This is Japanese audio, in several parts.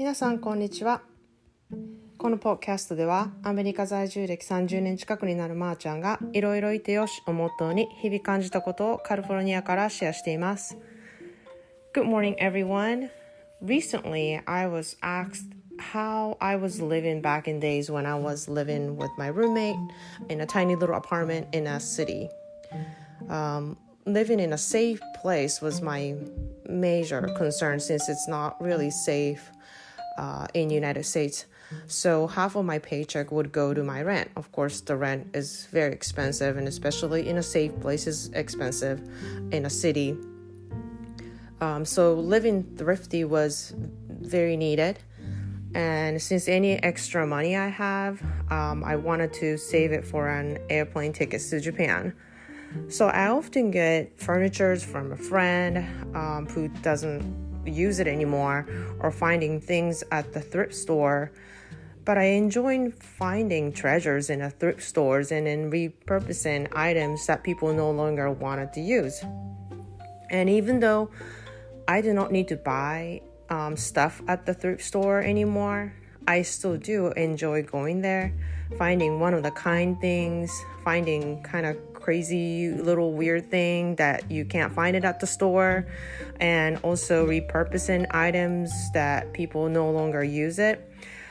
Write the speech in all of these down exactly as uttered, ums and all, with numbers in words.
皆さんこんにちは。このポッドキャストではアメリカ在住歴さんじゅうねん近くになるまーちゃんがいろいろいてよしをモットーに日々感じたことをカリフォルニアからシェアしています。 Good morning everyone. Recently I was asked how I was living back in days when I was living with my roommate in a tiny little apartment in a city. Um, living in a safe place was my major concern since it's not really safe uh, in the United States. So half of my paycheck would go to my rent. Of course, the rent is very expensive, and especially in a safe place is expensive in a city. Um, so living thrifty was very needed. And since any extra money I have, um, I wanted to save it for an airplane ticket to Japan. So I often get furniture from a friend um, who doesn't use it anymore, or finding things at the thrift store. But I enjoy finding treasures in the thrift stores and in repurposing items that people no longer wanted to use. And even though I do not need to buy um, stuff at the thrift store anymore, I still do enjoy going there, finding one of the kind things, finding kind of crazy little weird thing that you can't find it at the store, and also repurposing items that people no longer use it.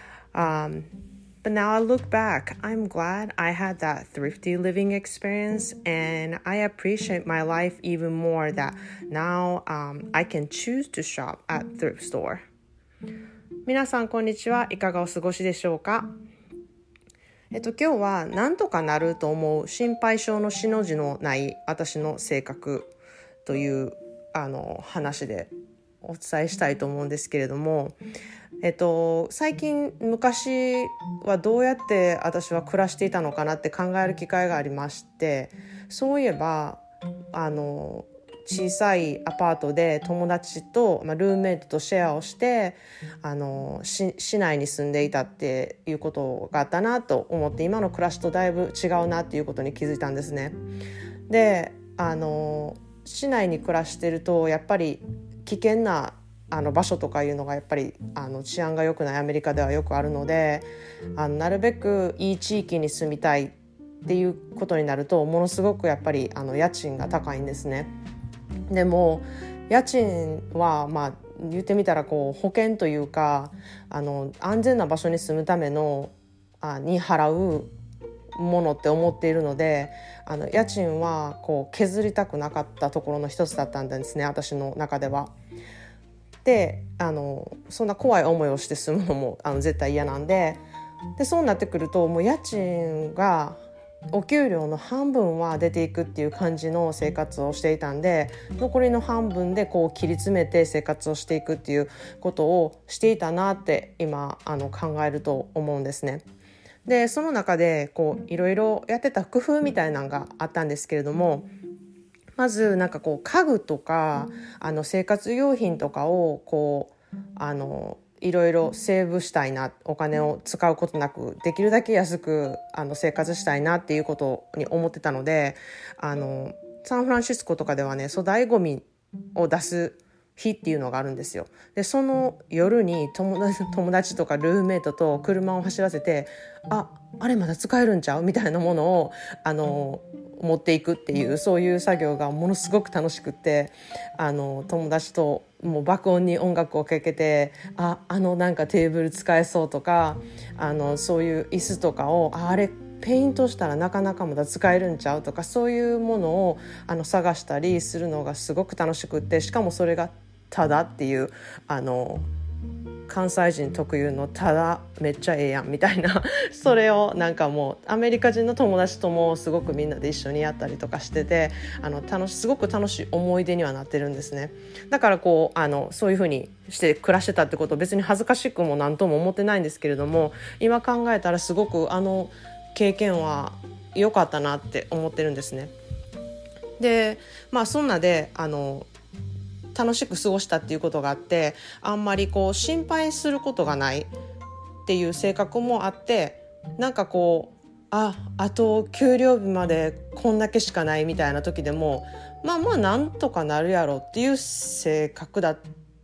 Um, but now I look back, I'm glad I had that thrifty living experience, and I appreciate my life even more that now um, I can choose to shop at thrift store. 皆さんこんにちは。いかがお過ごしでしょうか。えっと今日はなんとかなると思う心配性のしの字のない私の性格というあの話でお伝えしたいと思うんですけれども、えっと最近昔はどうやって私は暮らしていたのかなって考える機会がありまして、そういえばあの小さいアパートで友達と、まあ、ルームメイトとシェアをしてあのし市内に住んでいたっていうことがあったなと思って、今の暮らしとだいぶ違うなっていうことに気づいたんですね。であの市内に暮らしてるとやっぱり危険なあの場所とかいうのがやっぱりあの治安が良くないアメリカではよくあるので、あのなるべくいい地域に住みたいっていうことになるとものすごくやっぱりあの家賃が高いんですね。でも家賃はまあ言ってみたらこう保険というか、あの安全な場所に住むためのあに払うものって思っているので、あの家賃はこう削りたくなかったところの一つだったんですね、私の中では。であのそんな怖い思いをして住むのもあの絶対嫌なんで、でそうなってくるともう家賃がお給料の半分は出ていくっていう感じの生活をしていたんで、残りの半分でこう切り詰めて生活をしていくっていうことをしていたなって今あの考えると思うんですね。でその中でこういろいろやってた工夫みたいなのがあったんですけれども、まずなんかこう家具とかあの生活用品とかをこうあのいろいろセーブしたいな、お金を使うことなくできるだけ安くあの生活したいなっていうことに思ってたので、あのサンフランシスコとかではね粗大ごみを出す日っていうのがあるんですよ。でその夜に友達、友達とかルームメイトと車を走らせて、あ、あれまだ使えるんちゃうみたいなものをあの持っていくっていう、そういう作業がものすごく楽しくって、あの友達ともう爆音に音楽をかけて、あ、あのなんかテーブル使えそうとか、あのそういう椅子とかを、あ、あれペイントしたらなかなかまだ使えるんちゃうとか、そういうものをあの探したりするのがすごく楽しくって、しかもそれがただっていう、あの関西人特有のただめっちゃええやんみたいなそれをなんかもうアメリカ人の友達ともすごくみんなで一緒にやったりとかしてて、あの楽しすごく楽しい思い出にはなってるんですね。だからこうあのそういう風にして暮らしてたってことを別に恥ずかしくも何とも思ってないんですけれども、今考えたらすごくあの経験は良かったなって思ってるんですね。でまあそんなであの楽しく過ごしたっていうことがあって、あんまりこう心配することがないっていう性格もあって、なんかこうああと給料日までこんだけしかないみたいな時でもまあまあなんとかなるやろっていう性格だっ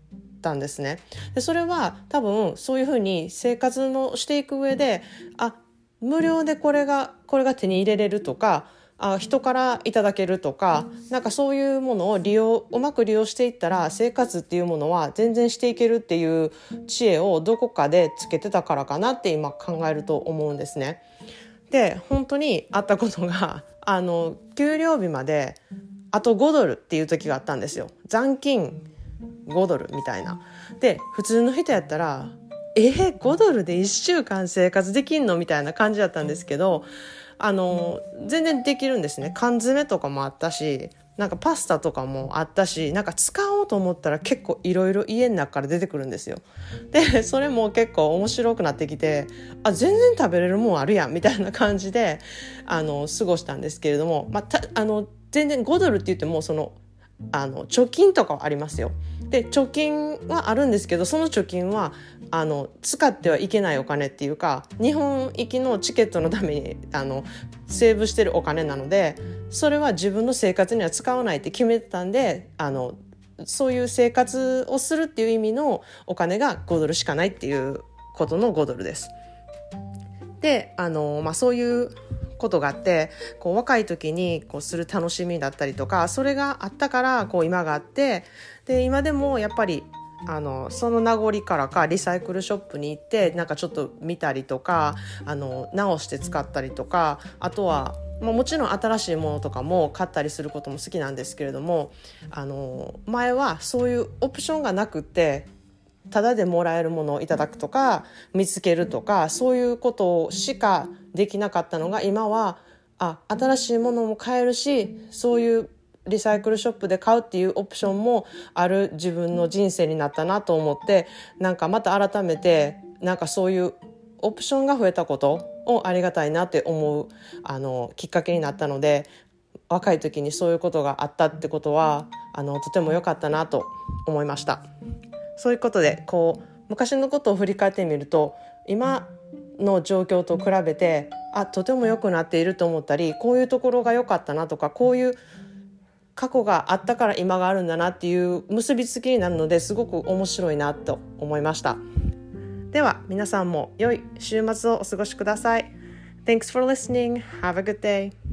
たんですね。でそれは多分そういうふうに生活のしていく上で、あ、無料でこれがこれが手に入れれるとか、あ、人からいただけるとか、なんかそういうものを利用うまく利用していったら生活っていうものは全然していけるっていう知恵をどこかでつけてたからかなって今考えると思うんですね。で本当にあったことが、あの給料日まであとごドルっていう時があったんですよ。残金ごドルみたいな。で普通の人やったらえー、ごドルでいっしゅうかん生活できんのみたいな感じだったんですけど、あの全然できるんですね。缶詰とかもあったし、なんかパスタとかもあったし、なんか使おうと思ったら結構いろいろ家の中から出てくるんですよ。でそれも結構面白くなってきて、あ、全然食べれるもんあるやんみたいな感じであの過ごしたんですけれども、まあ、たあの全然ごドルって言ってもそのあの貯金とかはありますよ。で貯金はあるんですけど、その貯金はあの使ってはいけないお金っていうか、日本行きのチケットのためにあのセーブしてるお金なので、それは自分の生活には使わないって決めてたんで、あのそういう生活をするっていう意味のお金がごドルしかないっていうことのごドルです。であの、まあ、そういうことがあって、こう若い時にこうする楽しみだったりとか、それがあったからこう今があって、で今でもやっぱりあのその名残からかリサイクルショップに行ってなんかちょっと見たりとか、あの直して使ったりとか、あとはまあ、もちろん新しいものとかも買ったりすることも好きなんですけれども、あの前はそういうオプションがなくってタダでもらえるものをいただくとか見つけるとか、そういうことしかできなかったのが、今はあ新しいものも買えるし、そういうリサイクルショップで買うっていうオプションもある自分の人生になったなと思って、なんかまた改めてなんかそういうオプションが増えたことをありがたいなって思うあのきっかけになったので、若い時にそういうことがあったってことはあのとても良かったなと思いました。そういうことでこう昔のことを振り返ってみると、今の状況と比べてあとても良くなっていると思ったり、こういうところが良かったなとか、こういう過去があったから今があるんだなっていう結びつきになるので、すごく面白いなと思いました。では皆さんも良い週末をお過ごしください。Thanks for listening. Have a good day.